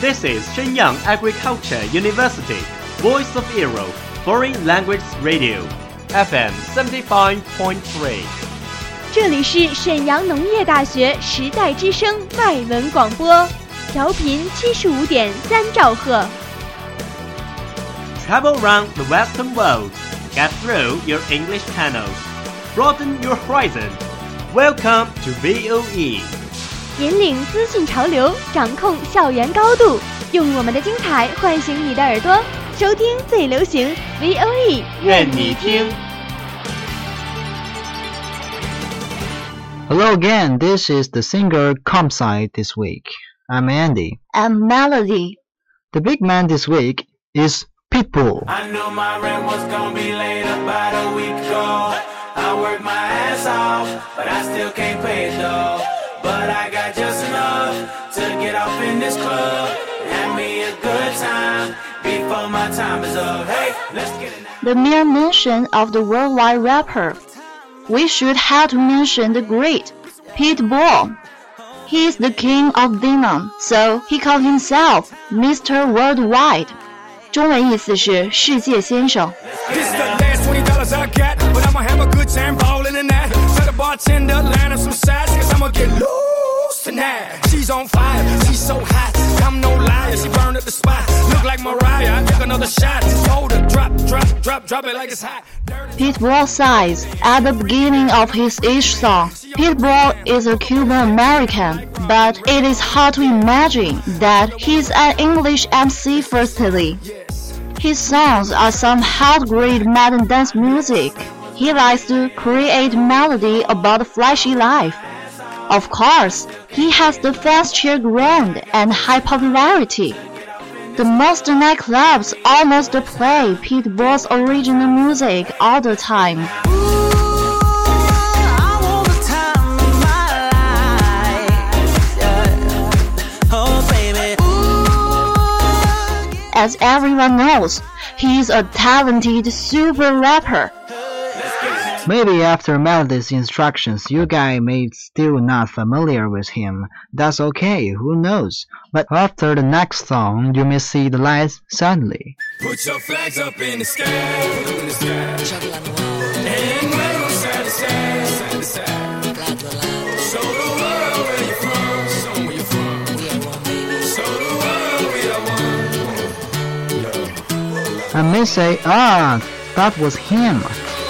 This is Shenyang Agriculture University, Voice of Europe, Foreign Language Radio, FM 75.3。 这里是沈阳农业大学时代之声外文广播，调频75.3兆赫。 Travel around the Western world, get through your English channels, broaden your horizon. Welcome to VOE. 引领资讯潮流，掌控校园高度，用我们的精彩唤醒你的耳朵，收听最流行 VOE， 愿你听。 Hello again, this is the singer Compside this week. I'm Andy. I'm Melody. The big man this week is Pitbull. I knew my rent was gonna be late about a week ago. I worked my ass off, but I still can't pay it though. But I got just enough to get off in this club and have me a good time before my time is up. Hey, let's get it now. The mere mention of the worldwide rapper, we should have to mention the great Pitbull. He is the king of venom, so he called himself Mr. Worldwide. 中文意思是世界先生。 This is the last $20 I got, but I'ma have a good time ballin' in that. Tell the bartender, line up some sides, cause I'ma get loose tonight. She's on fire, she's so hot, I'm no liar, she burned up the spot. Look like Mariah, I took another shot. Hold her, drop it like it's hot. Pitbull says at the beginning of his each song, Pitbull is a Cuban American, but it is hard to imagine that he's an English MC firstly. His songs are some hard-grade modern dance music. He likes to create melody about flashy life. Of course, he has the fans cheer ground and high popularity. The most nightclubs almost play Pitbull's original music all the time. As everyone knows, he's a talented super rapper. Maybe after Melody's instructions, you guys may still not familiar with him. That's okay, who knows? But after the next song, you may see the lights suddenly. Put your flags up in the sky, in the sky. And wave them side to side, side to side. Show the world where you're from, show 'em where you're from. Show the world we are one. I may say, that was him.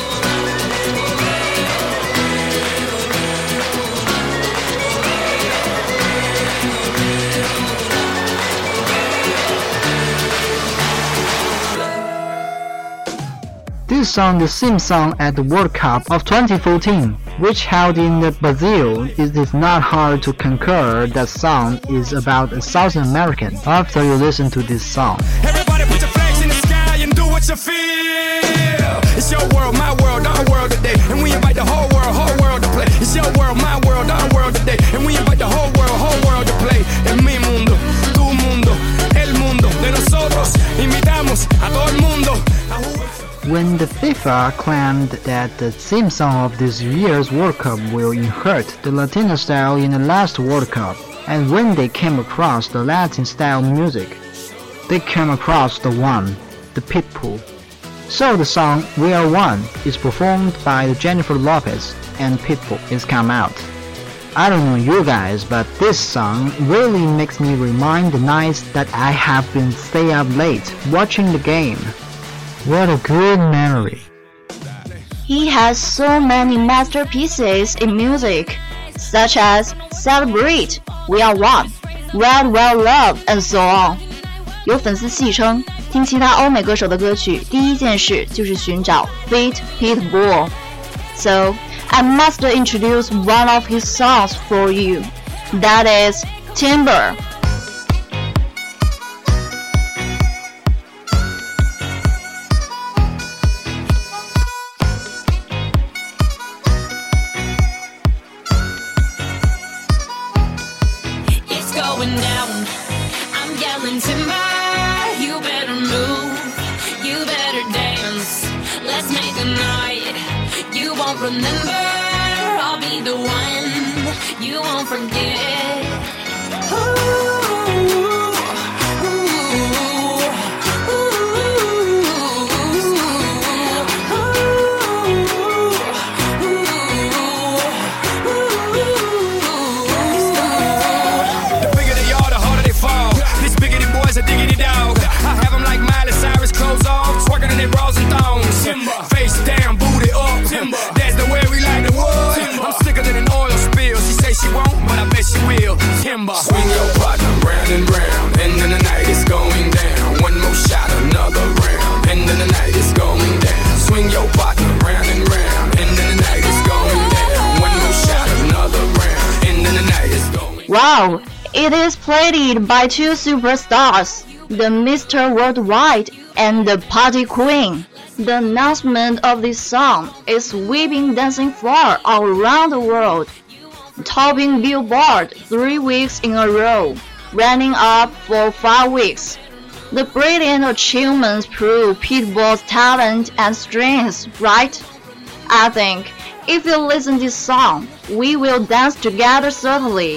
This song, the theme song at the World Cup of 2014, which held in Brazil. It is not hard to concur that song is about a South American after you listen to this song. Everybody put your flags in the sky and do what you feel. It's your world, my world, our world today. And we invite the whole world to play. It's your world, my world, our world today. And we invite the whole world to play. En mi mundo, tu mundo, el mundo de nosotros. Invitamos a todo el mundo. When the FIFA claimed that the theme song of this year's World Cup will inherit the Latino style in the last World Cup, and when they came across the Latin style music, they came across the Pitbull. So the song We Are One is performed by Jennifer Lopez and Pitbull is come out. I don't know you guys, but this song really makes me remind the nights that I have been stay up late watching the game. What a good memory. He has so many masterpieces in music, such as Celebrate, We Are One, Wild Wild Love, and so on. 有粉丝戏称，听其他欧美歌手的歌曲，第一件事就是寻找 Fit Pitbull. So, I must introduce one of his songs for you. That is Timber. Going down, I'm yelling timber. You better move, you better dance. Let's make a night you won't remember. I'll be the one you won't forget. Ooh, Wow, it is played by two superstars, the Mr. Worldwide and the Party Queen. The announcement of this song is sweeping dancing floor all around the world, topping Billboard 3 weeks in a row, running up for 5 weeks. The brilliant achievements prove Pitbull's talent and strengths, right? I think if you listen to this song, we will dance together certainly.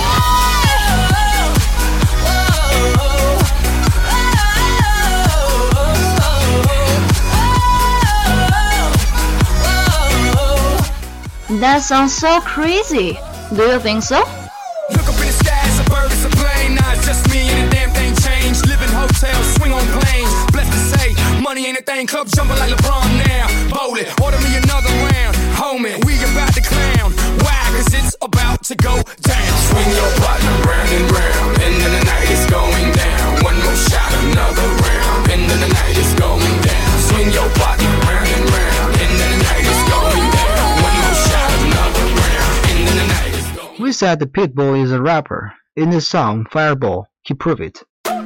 That sounds so crazy. Do you think so? Look up in the sky, it's a bird, it's a plane. Nah, it's just me and the damn thing changed. Live in hotels, swing on planes. Blessed to say, money ain't a thing. Club jumping like LeBron now. Bowl it, order me another round. Homie, we about to clown. Why? Cause it's about to go down. Swing your partner round and round. And then the night is going down. One more shot, another round. And then the night is going down. Swing your partner round and round. And then the night is going down. One more shot, another round. And then the night is going down. We said the Pitbull is a rapper. In the song Fireball, he proved it.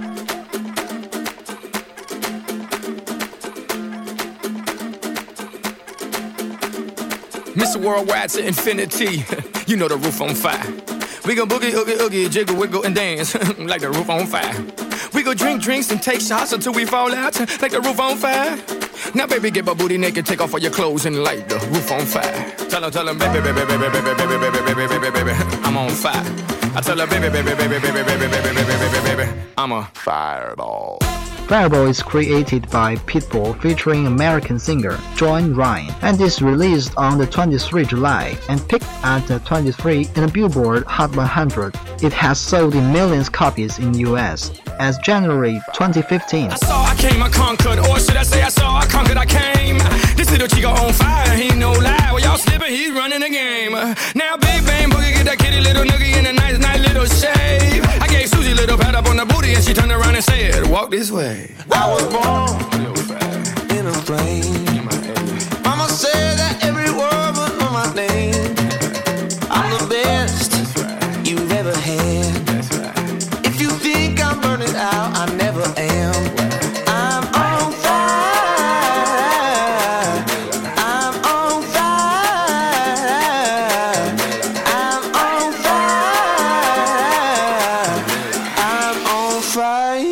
Mr. Worldwide to infinity. You know the roof on fire. We gon' boogie, oogie, oogie, jiggle, wiggle, and dance like the roof on fire. We go drink drinks and take shots until we fall out like the roof on fire. Now, baby, get my booty naked, take off all your clothes and light the roof on fire. Tell him, baby, baby, baby, baby, baby, baby, baby, baby, baby, baby, I'm on fire. I tell her, baby, baby, baby, baby, baby, baby, baby, baby, baby, I'm a fireball. Fireball is created by Pitbull featuring American singer Joan Ryan and is released on the 23 July and peaked at 23 in the Billboard Hot 100. It has sold in millions copies in US as January 2015. I saw, I came, I conquered, or should I say I saw, I conquered, I came. This little chico on fire, he no lie. Well, y'all slipping, he's running the game. Now Big Bang Boogie get that kitty little noogie in a nice little shave. I gave Susie a little pat up on the booty and she turned around and said, walk this way. I was born in a plane. Mama said that every word would know my name. I'm the best you've ever had. If you think I'm burning out, I never am. I'm on fire. I'm on fire. I'm on fire. I'm on fire.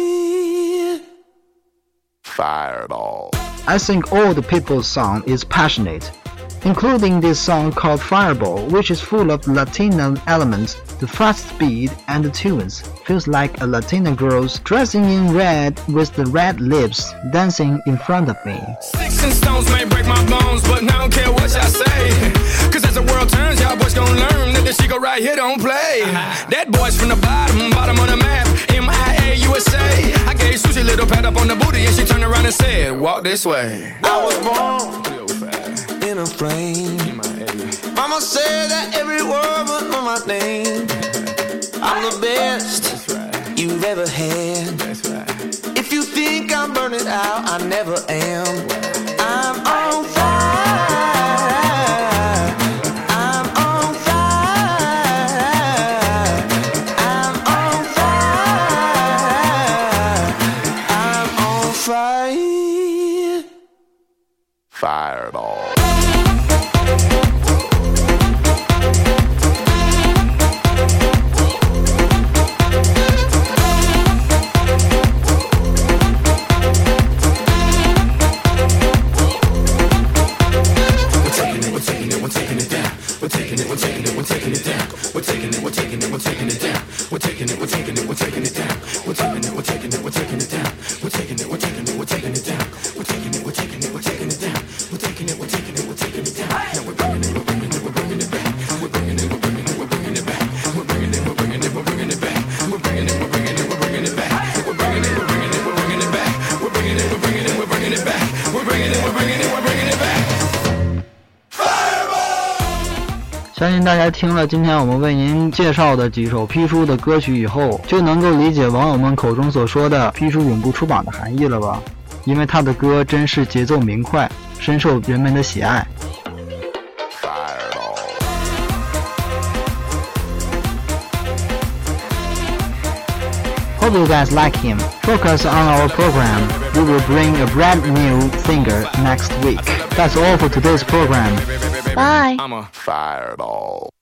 Fireball. I think all the Pitbull song is passionate, including this song called Fireball, which is full of Latino elements. The fast beat and the tunes feels like a Latina girl dressing in red with the red lips dancing in front of me. Sticks and stones may break my bones, but I don't care what y'all say. Cause as the world turns, y'all boys gon' learn that the Chico right here don't play. That boy's from the bottom of the map, MIA, USA. I gave Susie a little pat up on the booty and she turned around and said, walk this way. I was born in a plane. Mama said that every word would know my name. I'm the best you've ever had. If you think I'm burning out, I never am. I'm on fire. I'm on fire. I'm on fire. I'm on fire. Fireball. 相信大家听了今天我们为您介绍的几首批书的歌曲以后，就能够理解网友们口中所说的批书永不出版的含义了吧？因为他的歌真是节奏明快，深受人们的喜爱。 Hope you guys like him. Focus on our program. We will bring a brand new singer next week. That's all for today's program. Bye. I'm a fireball.